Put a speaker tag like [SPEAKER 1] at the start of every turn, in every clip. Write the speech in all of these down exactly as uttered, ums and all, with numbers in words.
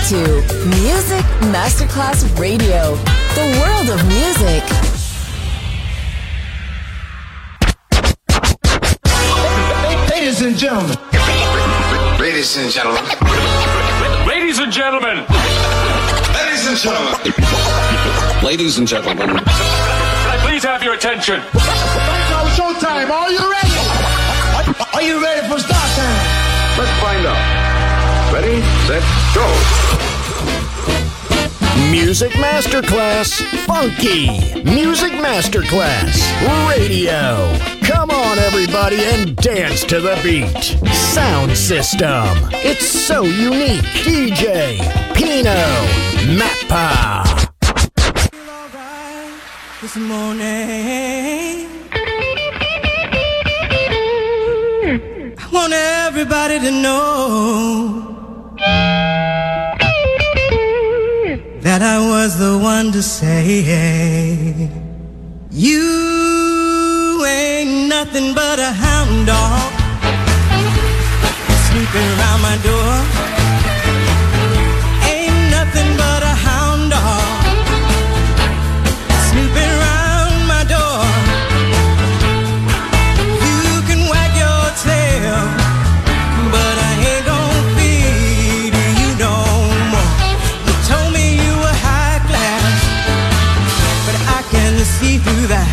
[SPEAKER 1] to Music Masterclass Radio, the world of music.
[SPEAKER 2] Ladies and gentlemen.
[SPEAKER 3] Ladies and gentlemen.
[SPEAKER 4] Ladies and gentlemen.
[SPEAKER 3] Ladies and gentlemen. Ladies and gentlemen.
[SPEAKER 4] Can I please have your attention?
[SPEAKER 2] Now showtime. Are you ready? Are you ready for start time?
[SPEAKER 3] Let's find out. Ready, set, go.
[SPEAKER 5] Music Masterclass Funky. Music Masterclass Radio. Come on, everybody, and dance to the beat. Sound system. It's so unique. D J Pino Mappa.
[SPEAKER 6] This morning, I want everybody to know that I was the one to say, you ain't nothing but a hound dog snooping around my door. Ain't nothing but a hound dog snooping around my door. You can wag your tail, but I ain't gonna feed you no more. You told me you were high class, but I can see through that.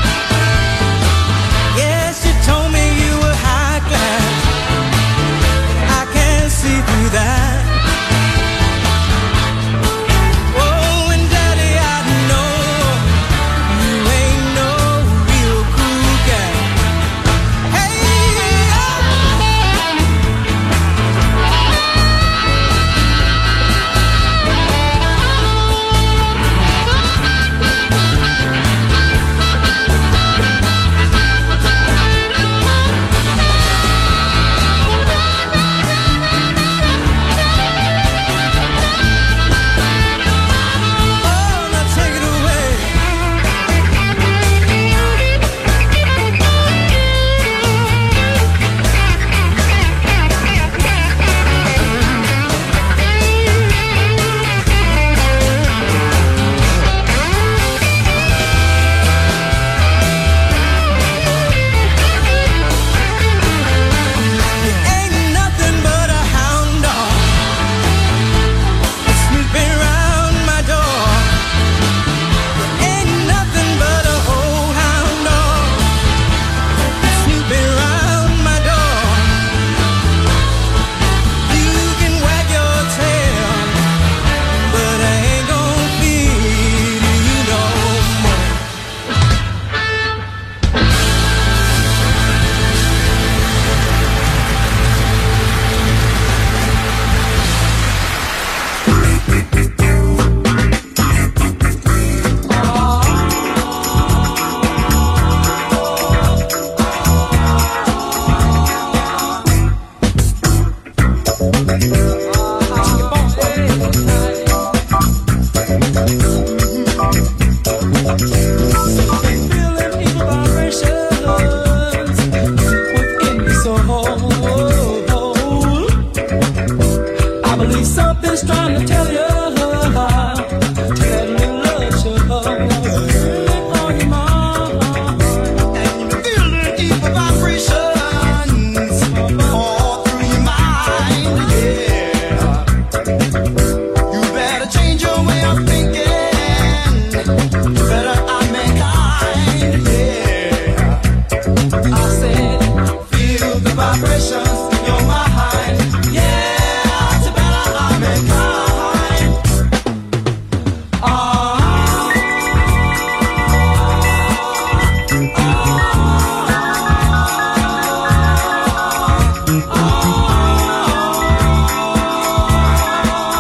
[SPEAKER 6] Yes, you told me you were high class, but I can see through that. Oh, and daddy, I know you ain't no real cool guy. Hey, oh, now take it away. Ain't nothing but a hound dog snooping around my door. Ain't nothing but a old hound dog snooping around my door. You can wag your tail, but I ain't gonna feed you no more. Feeling evil vibrations within me so I believe something's trying to tell you, tell me love you on your mind. And you feeling evil vibrations all through your mind, yeah. You better change your way of thinking. Better I mankind, yeah. I said, feel the vibrations in your mind, yeah. It's better I mankind. Ah, ah, ah.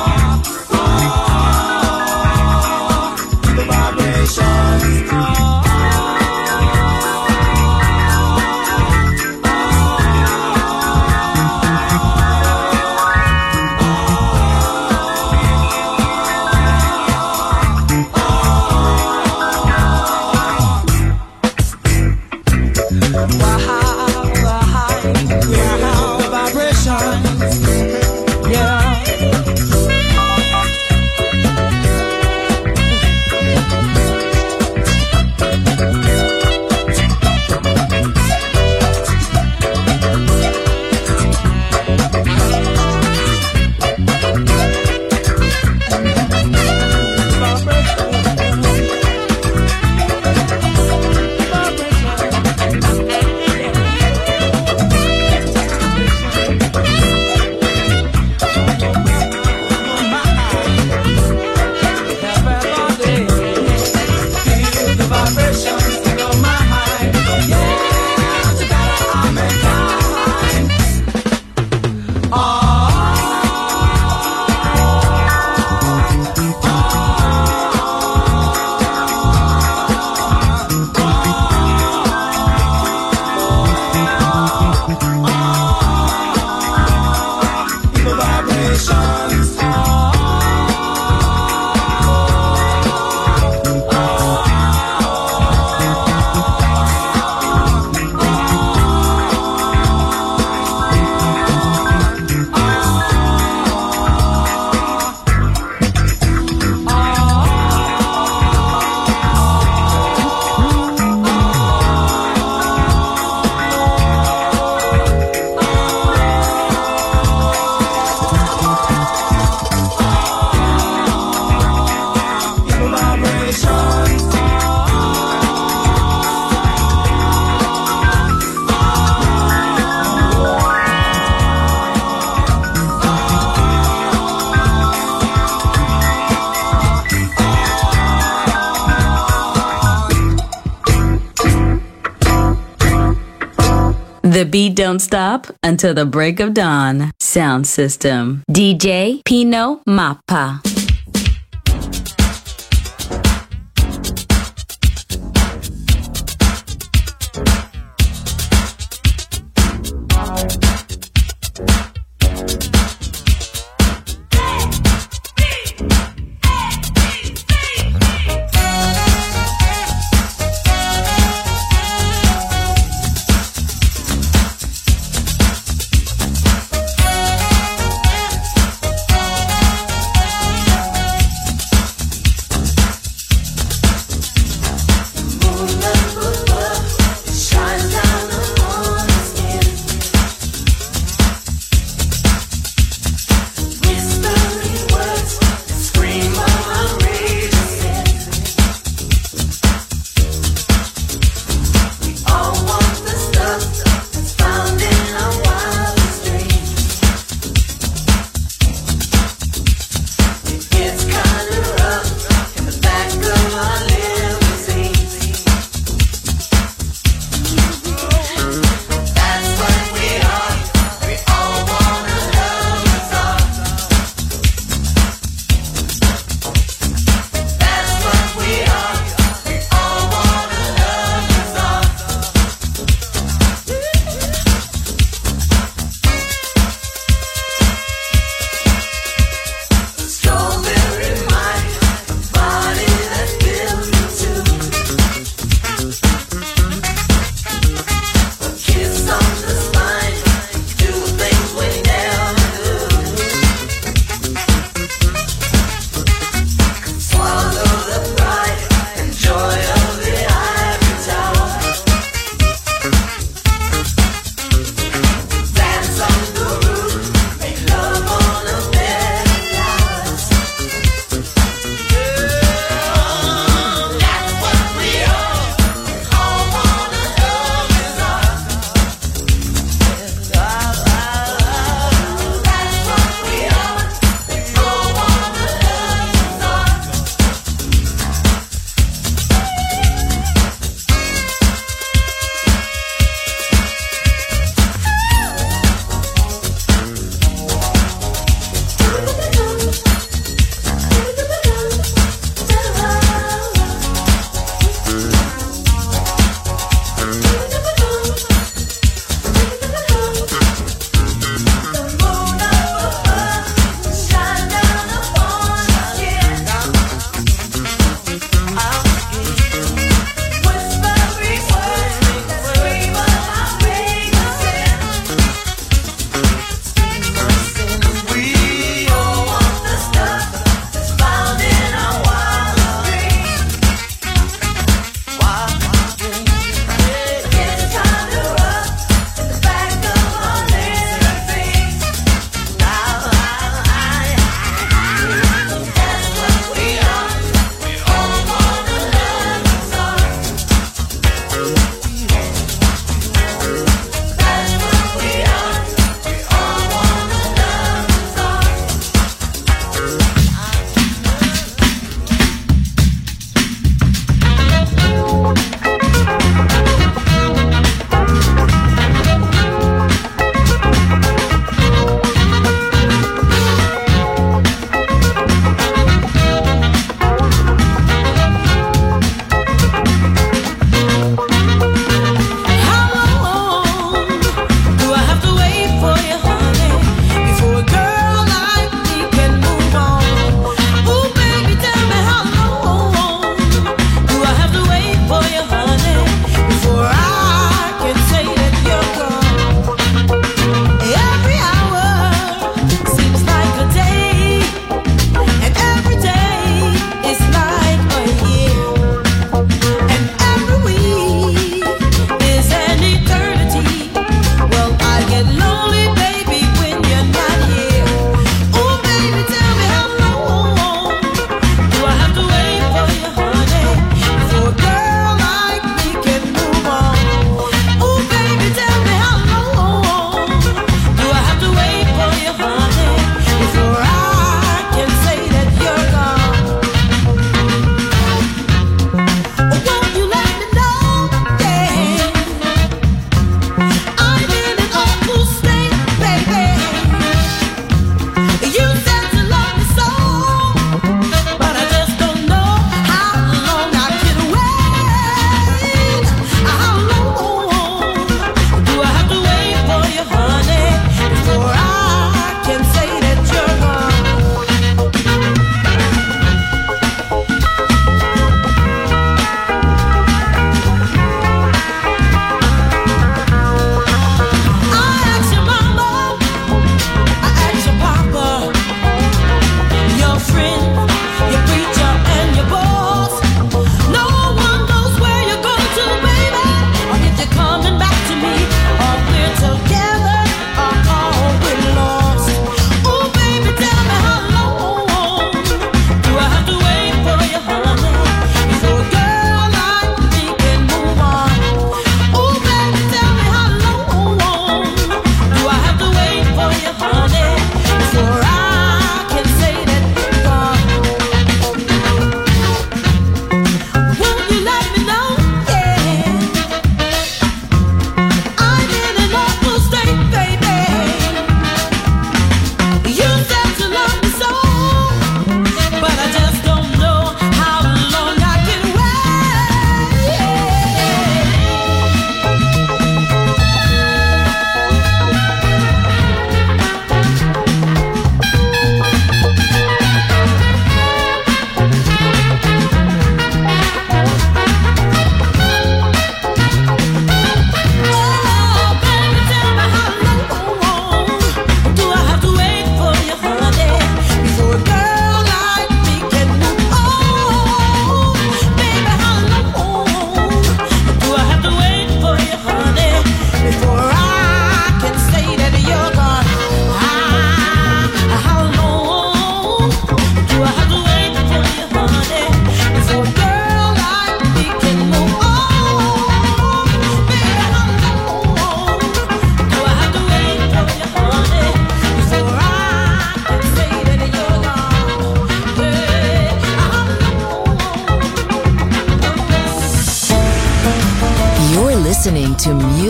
[SPEAKER 7] The beat don't stop until the break of dawn. Sound system. D J Pino Mappa.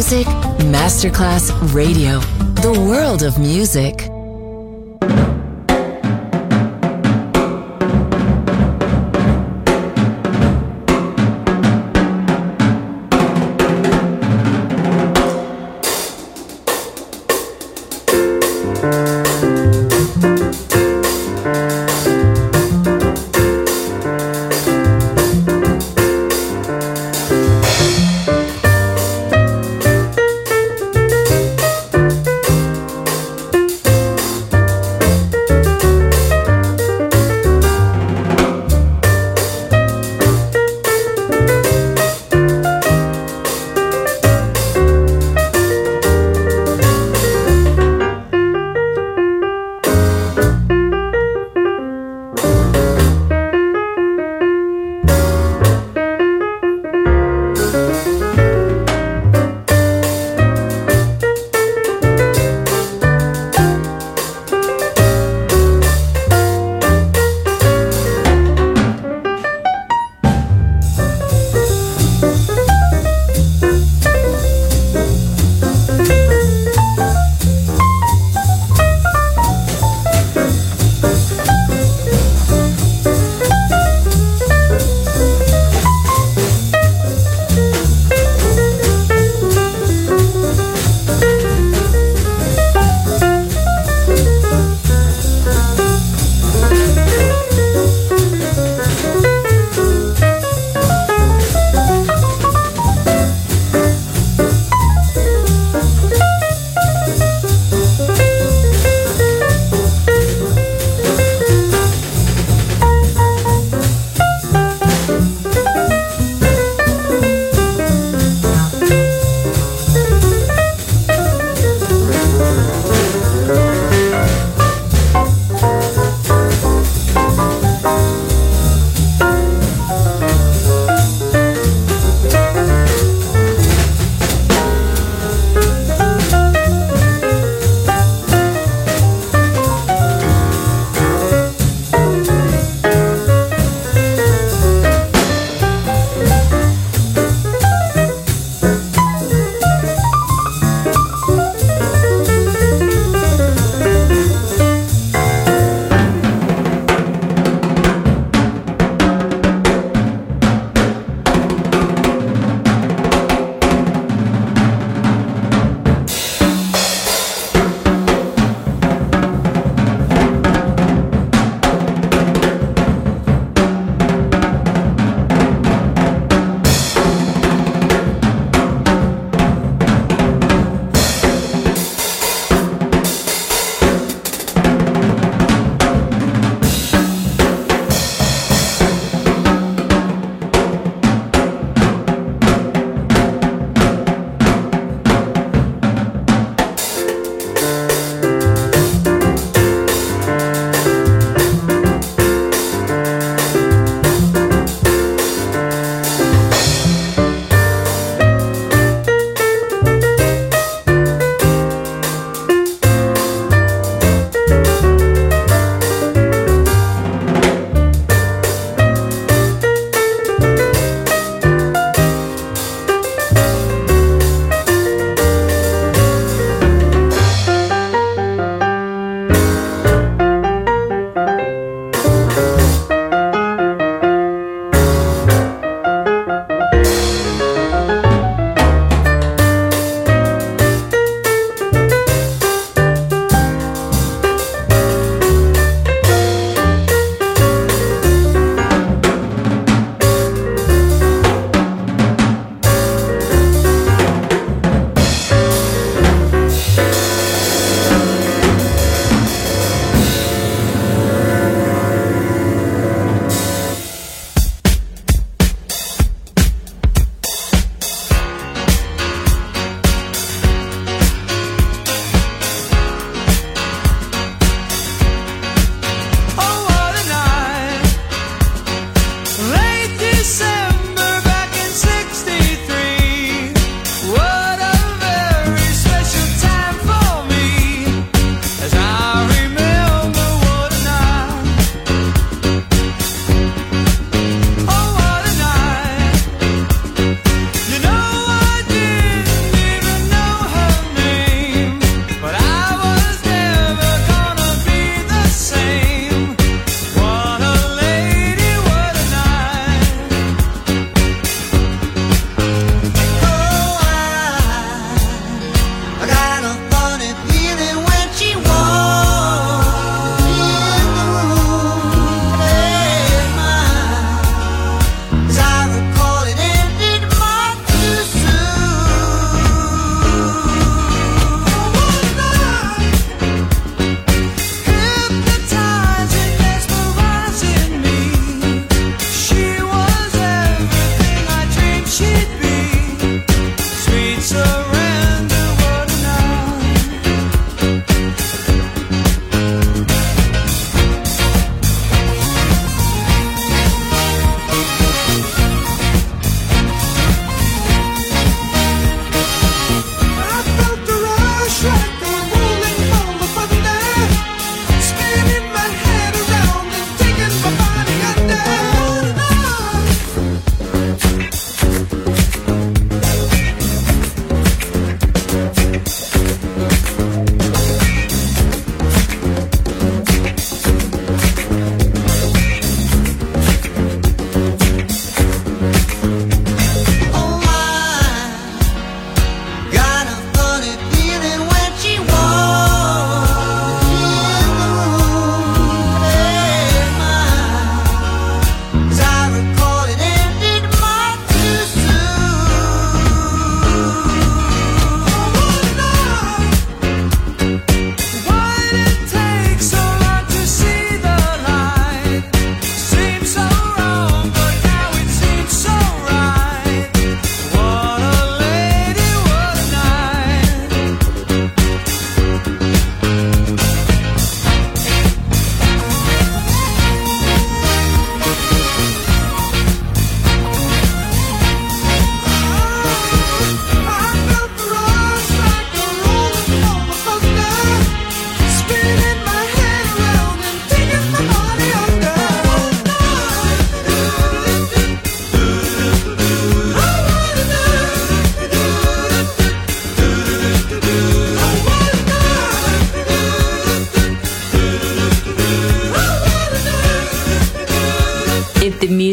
[SPEAKER 1] Music Masterclass Radio. The world of music.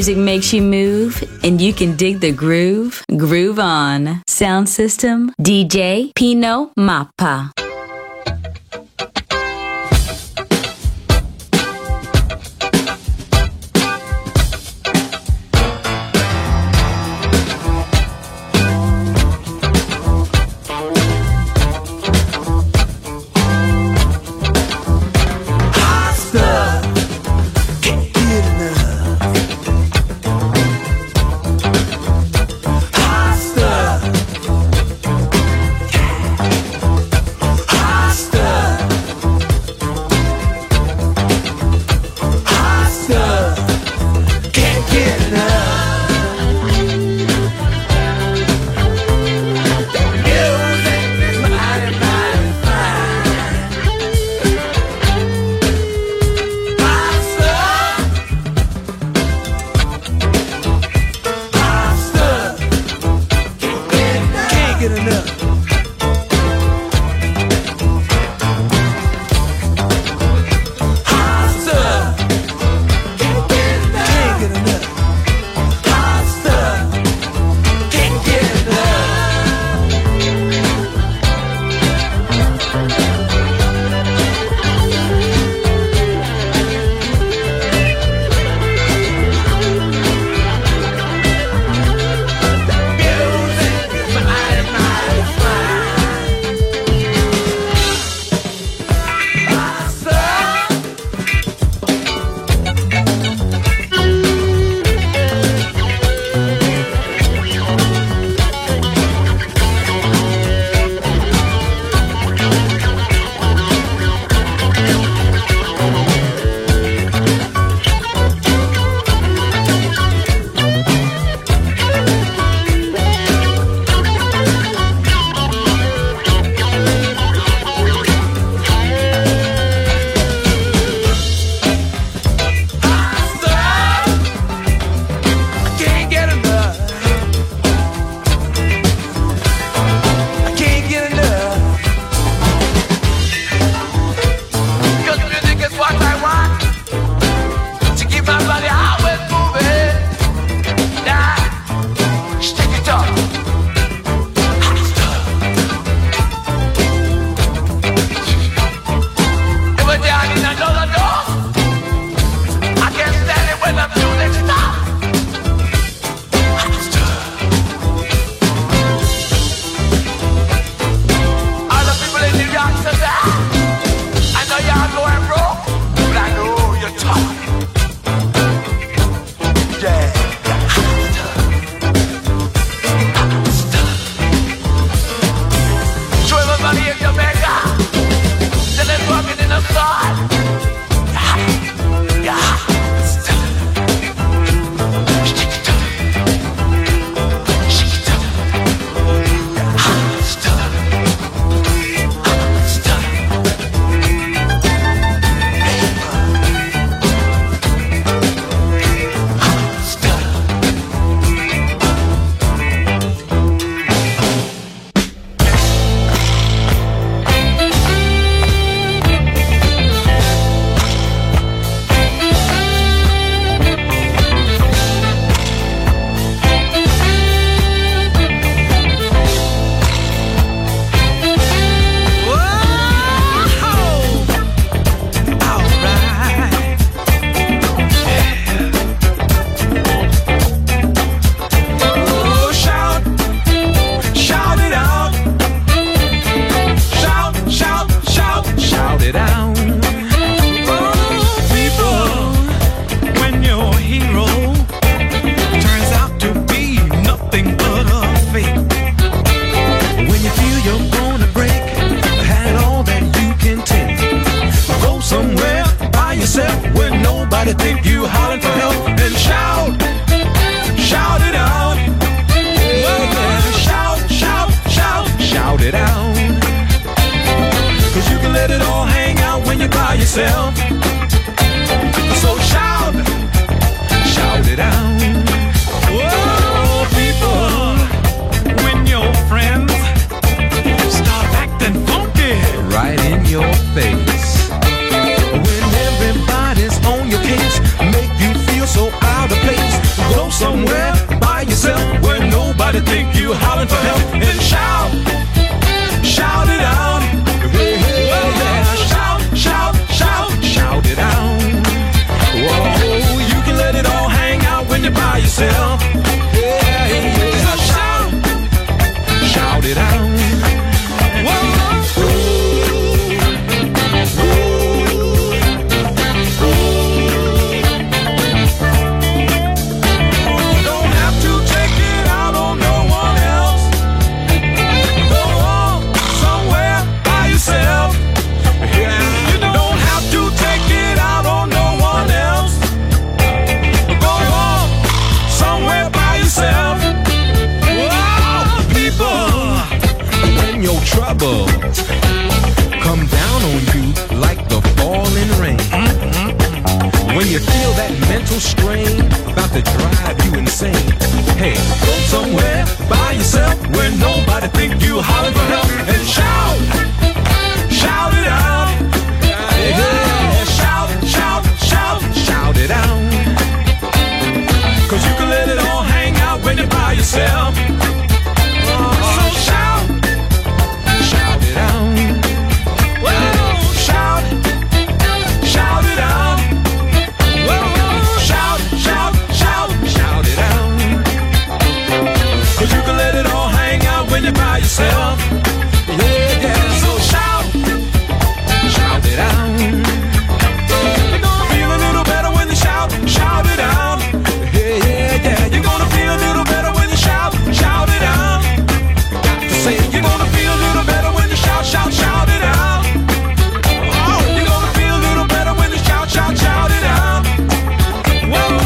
[SPEAKER 7] music makes you move and you can dig the groove. Groove on. Sound system, D J Pino Mappa.
[SPEAKER 6] yourself. So shout, shout it out. Oh, people, when your friends start acting funky right in your face, when everybody's on your case, make you feel so out of place. When you feel that mental strain about to drive you insane, hey, go somewhere by yourself where nobody think you holler for help and shout, shout it out. Yeah, shout, shout, shout, shout it out. Cause you can let it all hang out when you're by yourself. So shout, shout it out. Whoa, shout, shout it out. Whoa, shout, shout, shout, shout it out. Cause you can let it all hang out when you're by yourself. Yeah, yeah, so shout, shout it out. You're gonna feel a little better when you shout, shout it out. Yeah, yeah, yeah, you're gonna feel a little better when you shout, shout it out. Got to say, you're gonna feel a little better when you shout, shout, shout it out. Oh, you're gonna feel a little better when you shout, shout, shout it out. Whoa,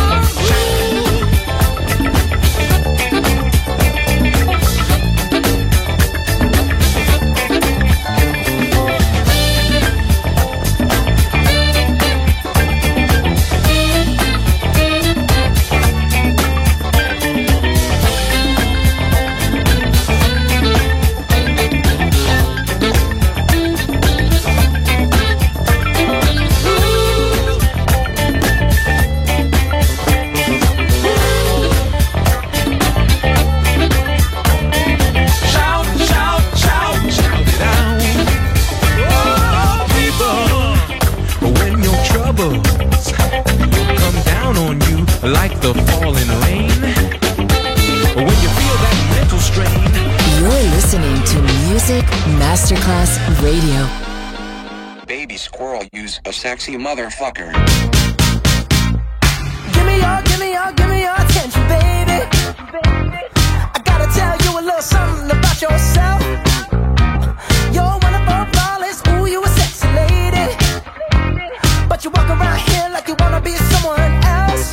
[SPEAKER 6] like the falling rain. When you feel that mental strain.
[SPEAKER 1] You're listening to Music Masterclass Radio.
[SPEAKER 8] Baby squirrel, use a sexy motherfucker.
[SPEAKER 9] Give me your, give me your, give me your attention, baby. I gotta tell you a little something about yourself. You're wonderful, flawless, ooh, you a sexy lady. But you walk around here like you wanna be someone else.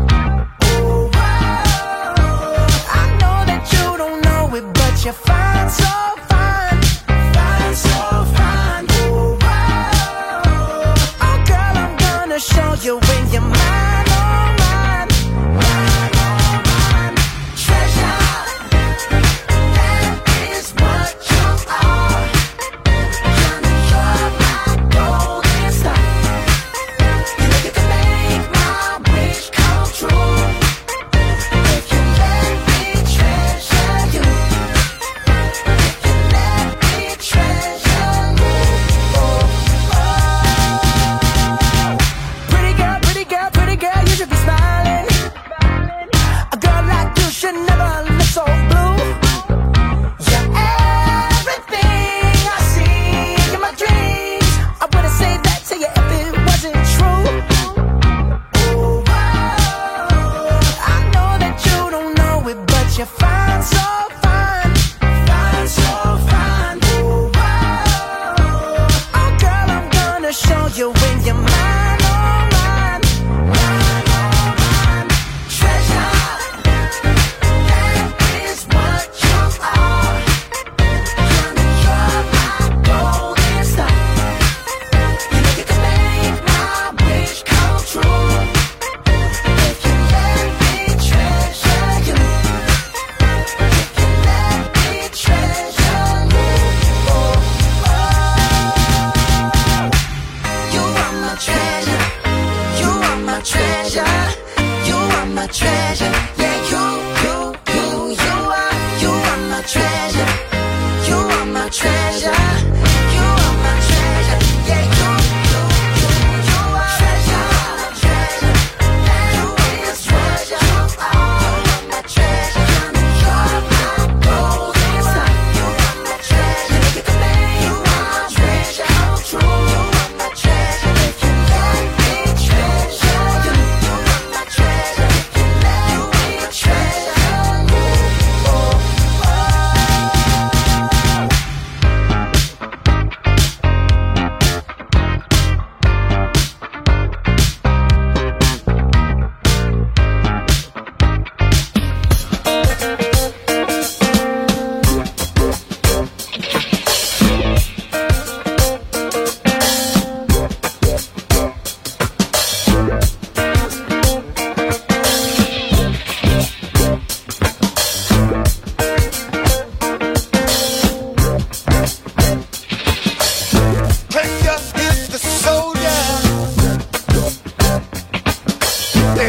[SPEAKER 9] You're fine, so fine, fine, so fine. Ooh, wow. Oh, girl, I'm gonna show you when you're mine, oh, mine, mine, oh, mine. Treasure, that is what you are. Honey, you're my golden star. You can make my wish come true. If you let me treasure you. Pretty girl, pretty girl,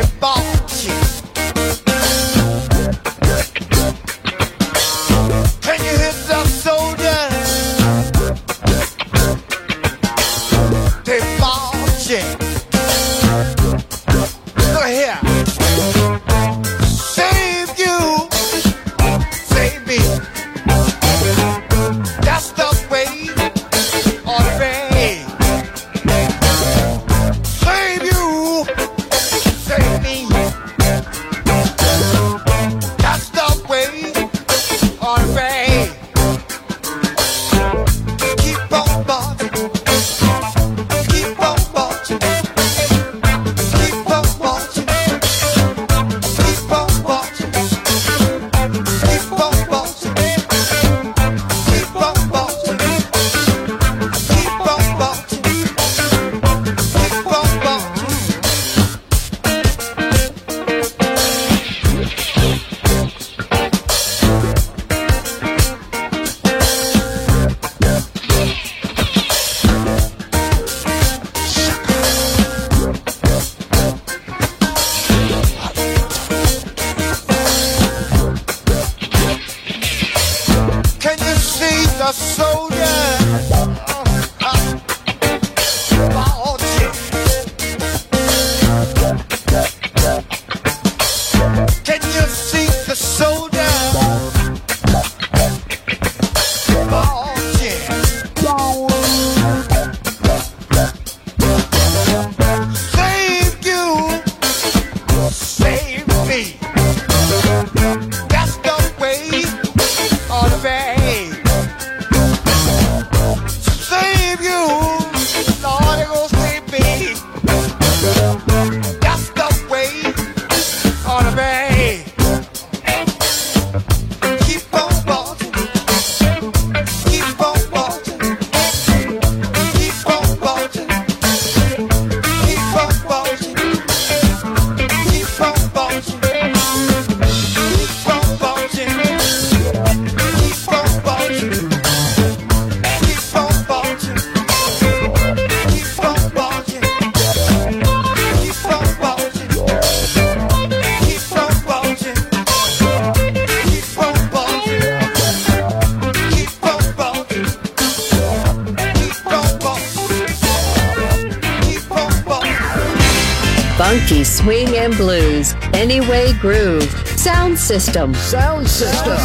[SPEAKER 10] Funky swing and blues. Anyway Groove. Sound System.
[SPEAKER 5] Sound System.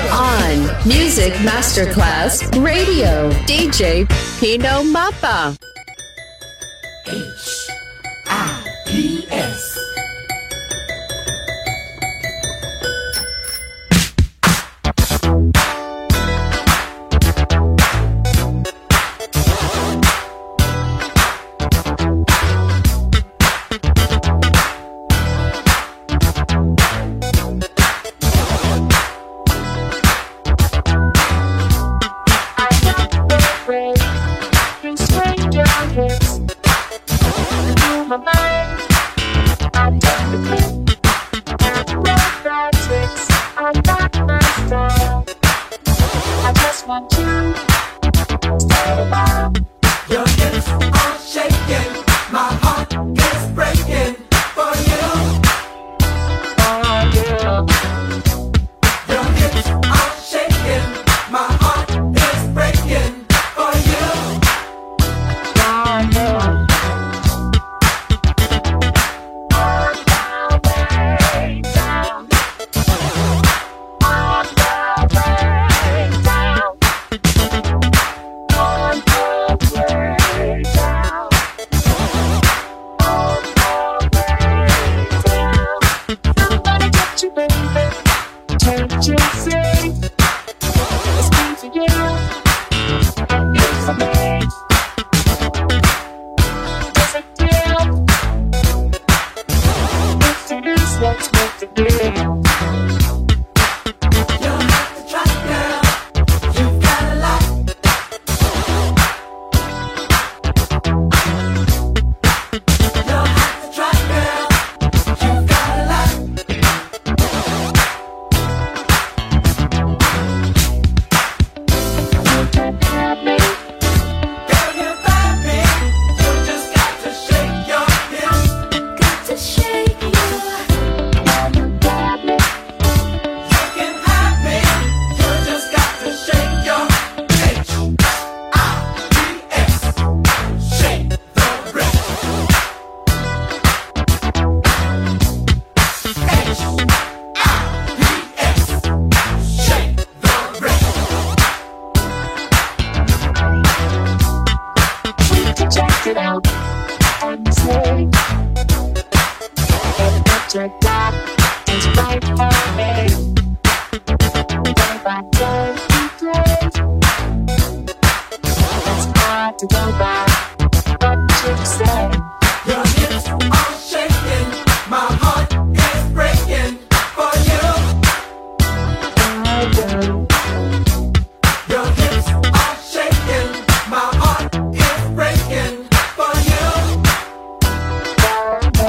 [SPEAKER 10] On Music Masterclass Radio. D J Pino Mappa.
[SPEAKER 6] H I P S.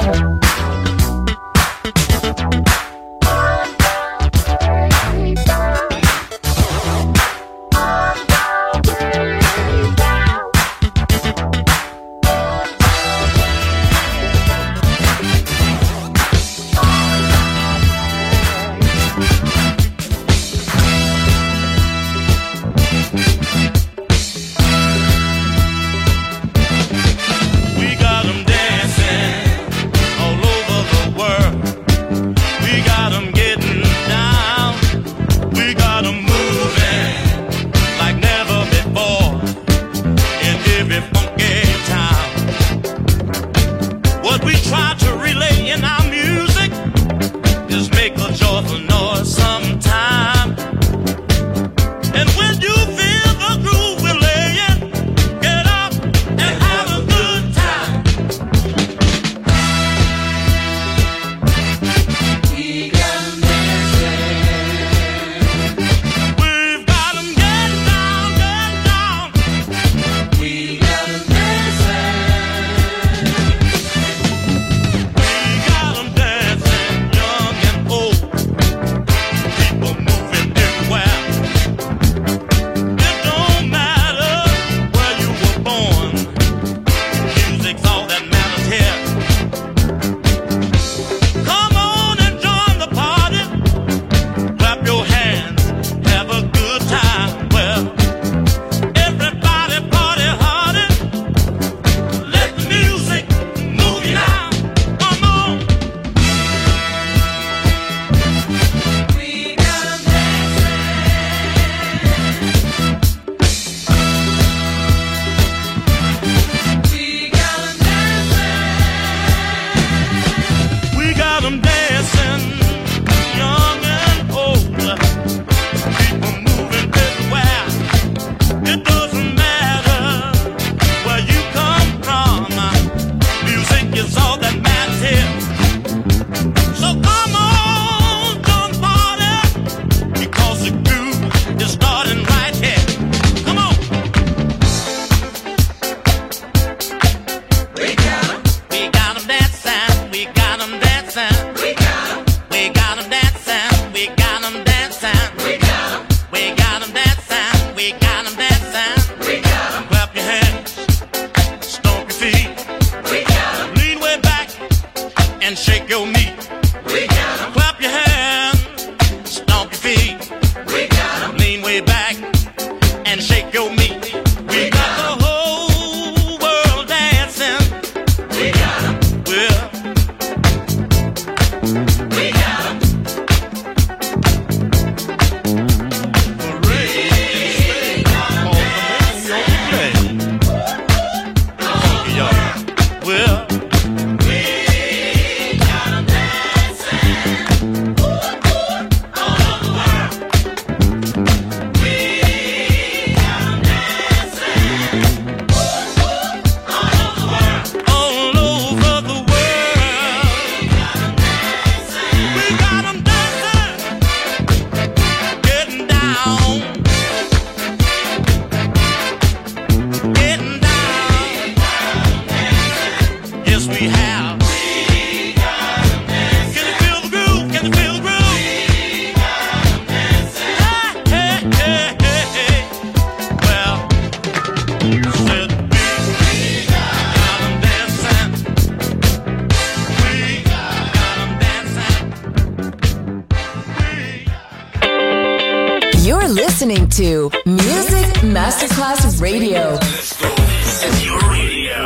[SPEAKER 1] You're listening to Music Masterclass Radio.
[SPEAKER 11] This is your radio.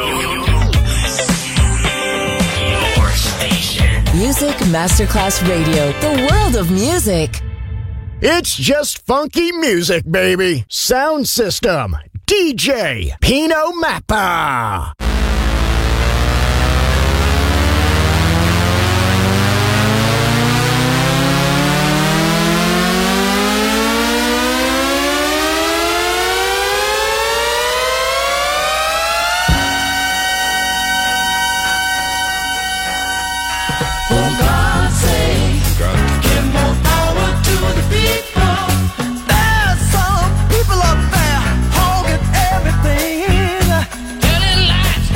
[SPEAKER 11] Your station.
[SPEAKER 1] Music Masterclass Radio. The world of music.
[SPEAKER 5] It's just funky music, baby. Sound system. D J Pino Mappa.
[SPEAKER 9] Some people up there holding everything. Telling lies.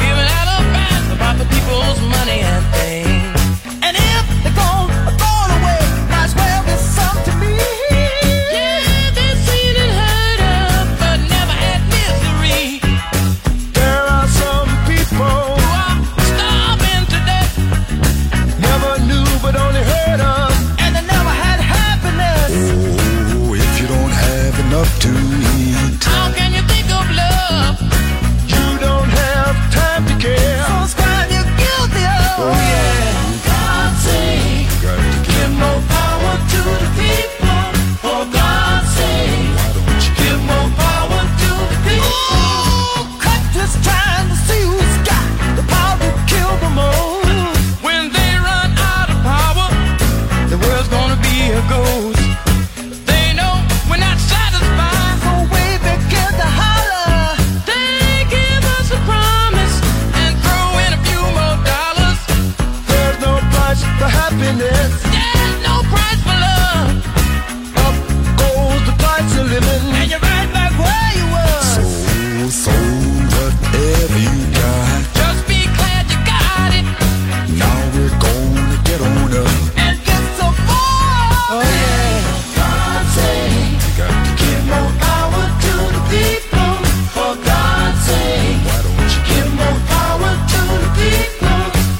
[SPEAKER 9] happiness. There's no price for love. Up goes the price of living, and you're right back where you were.
[SPEAKER 12] So, so whatever you got,
[SPEAKER 9] just be glad you got it.
[SPEAKER 12] Now we're gonna get on up
[SPEAKER 9] and get so far. Oh yeah. God sake,
[SPEAKER 12] you got to
[SPEAKER 9] give more power to the people. For God's sake,
[SPEAKER 12] why don't you
[SPEAKER 9] give more power to the people?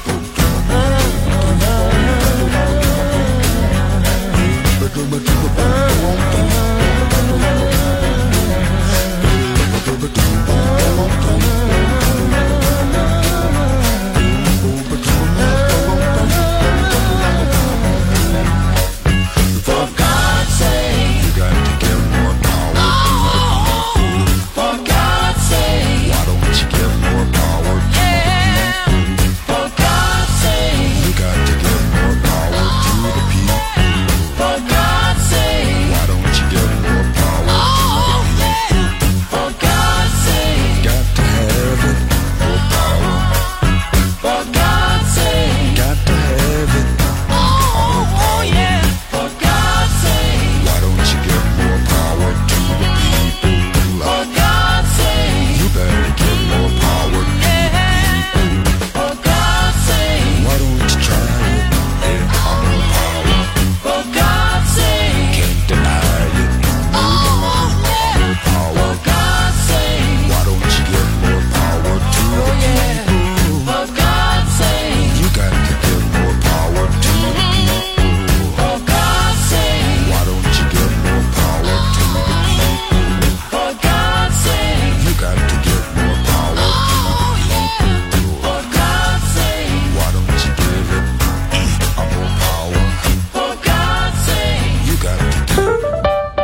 [SPEAKER 9] For God's sake,
[SPEAKER 12] you got to give more power.
[SPEAKER 9] Oh, for God's sake,
[SPEAKER 12] why don't you give more power?
[SPEAKER 9] Yeah, for God's sake,
[SPEAKER 12] you got to give more power to the people.
[SPEAKER 9] For God's sake,
[SPEAKER 12] why don't you give more power
[SPEAKER 9] oh,
[SPEAKER 12] to the people?
[SPEAKER 9] Yeah, for God's sake,
[SPEAKER 12] got to have it, more power.
[SPEAKER 9] For God's sake,
[SPEAKER 12] got to have it.
[SPEAKER 9] Oh, oh yeah, for God's sake,
[SPEAKER 12] why don't you give more power to the people?
[SPEAKER 9] For God's sake,
[SPEAKER 12] you better give more power to
[SPEAKER 9] yeah,
[SPEAKER 12] the people.
[SPEAKER 9] For God's sake,
[SPEAKER 12] why don't you try it? Yeah, more power.
[SPEAKER 9] For God's sake,
[SPEAKER 12] can't deny it.
[SPEAKER 9] Oh, yeah,
[SPEAKER 12] more power.
[SPEAKER 9] For God's sake,
[SPEAKER 12] why don't you give more power to
[SPEAKER 9] oh,
[SPEAKER 12] the
[SPEAKER 9] yeah,
[SPEAKER 12] people?
[SPEAKER 9] For God's sake,
[SPEAKER 12] you got to give more power to the people.
[SPEAKER 9] For God's sake,
[SPEAKER 12] why don't you give more power to the people?
[SPEAKER 9] For God's sake,
[SPEAKER 12] you got to give more power to
[SPEAKER 9] oh,
[SPEAKER 12] the people.
[SPEAKER 9] yeah, for God's sake,
[SPEAKER 12] why don't you give it uh, more power?
[SPEAKER 9] For God's sake,
[SPEAKER 12] you got to give it.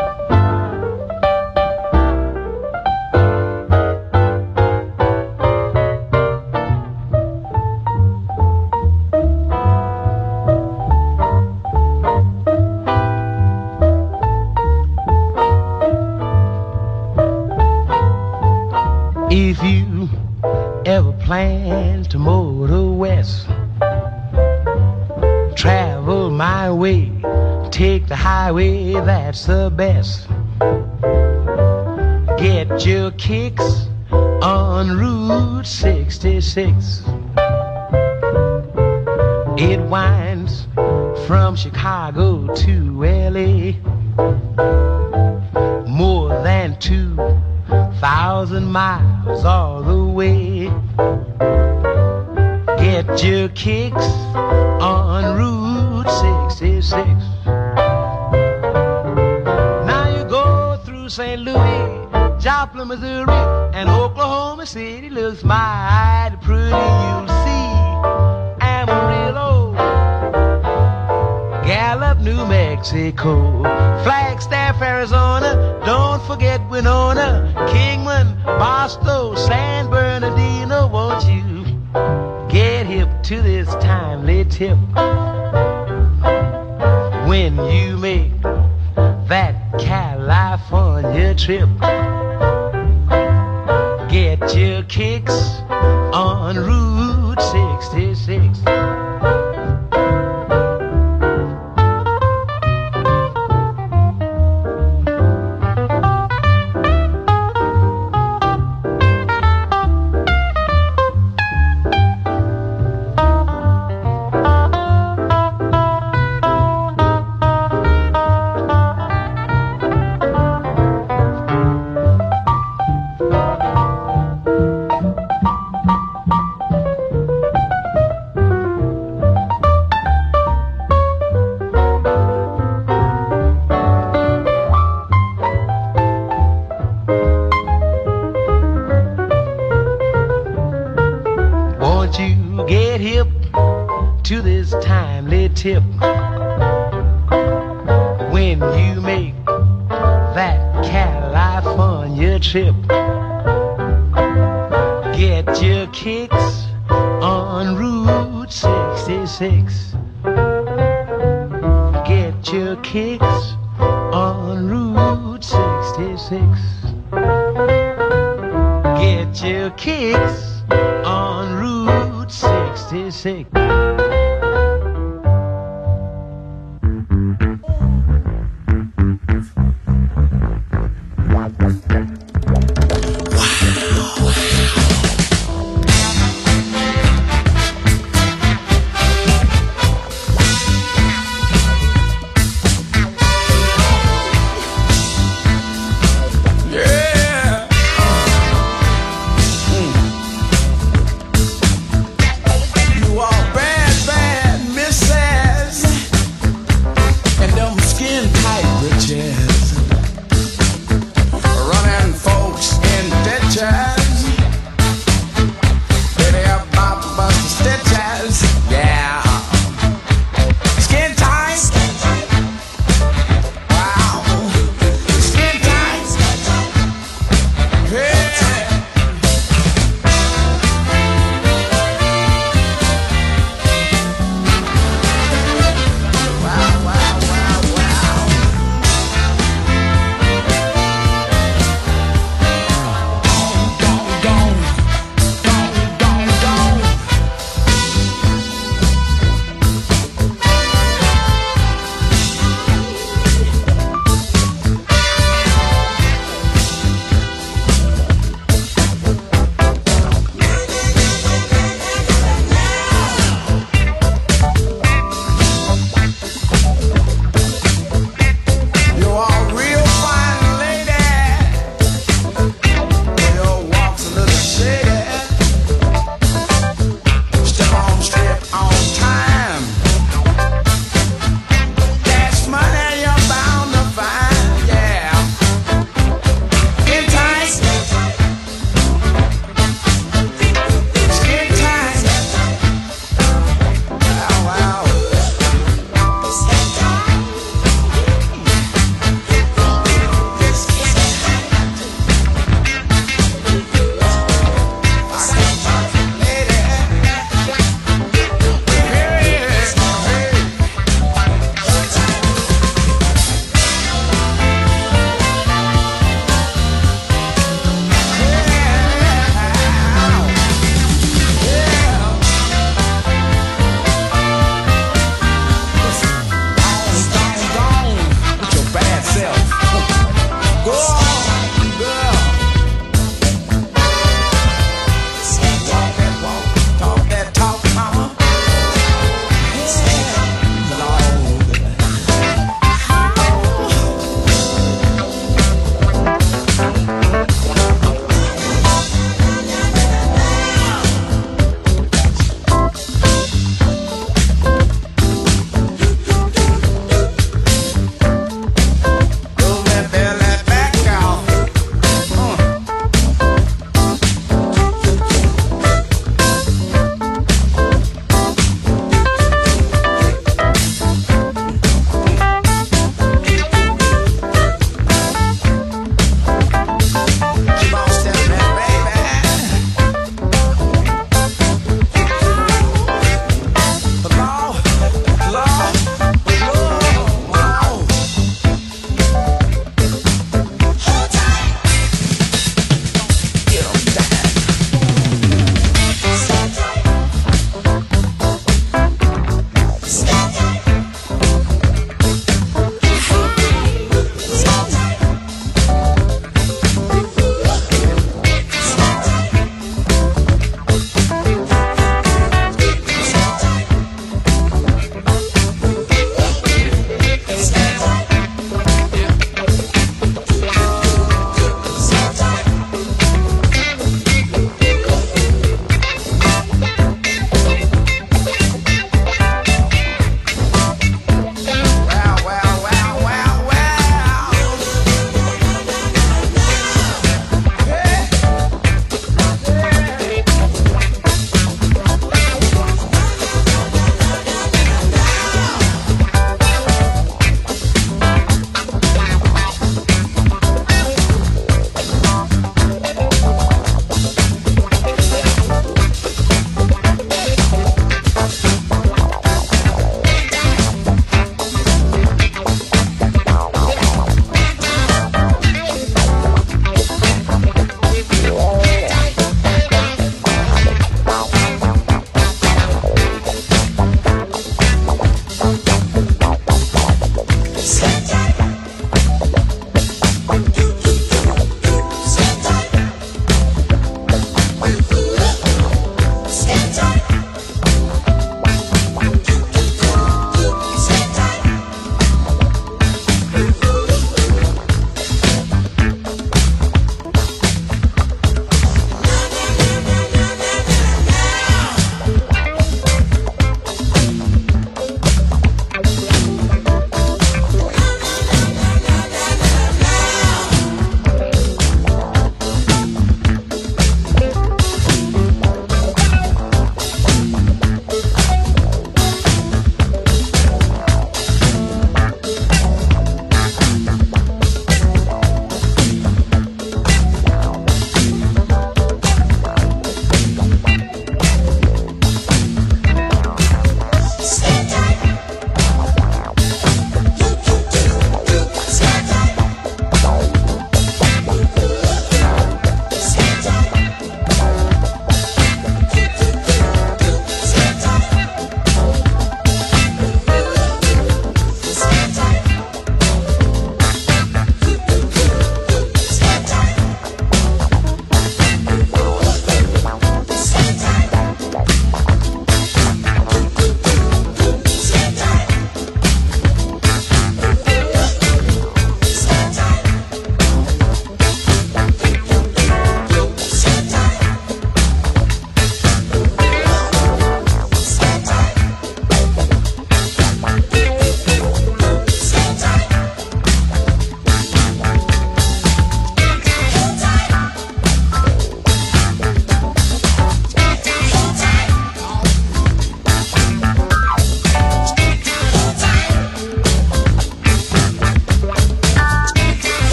[SPEAKER 13] If you ever plan to motor west, travel my way, take the highway, that's the best. Get your kicks on Route sixty-six. It winds from Chicago to L A, more than two thousand miles all the way. Get your kicks on Route sixty-six. Now you go through Saint Louis, Joplin, Missouri, and Oklahoma City looks mighty pretty. You'll see Amarillo, Gallup, New Mexico, Flagstaff, Arizona, don't forget Winona, Kingman, Barstow, San Bernardino. Won't you get hip to this timely tip when you make that California trip? Get your kicks on Route sixty-six. Tip when you make that California trip. Get your kicks on Route sixty-six. Get your kicks on Route sixty-six. Get your kicks on Route sixty-six.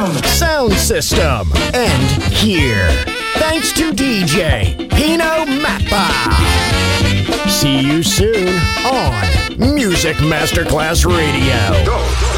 [SPEAKER 2] sound.
[SPEAKER 5] Sound system. And here. Thanks to D J Pino Mappa. See you soon on Music Masterclass Radio.
[SPEAKER 3] Go.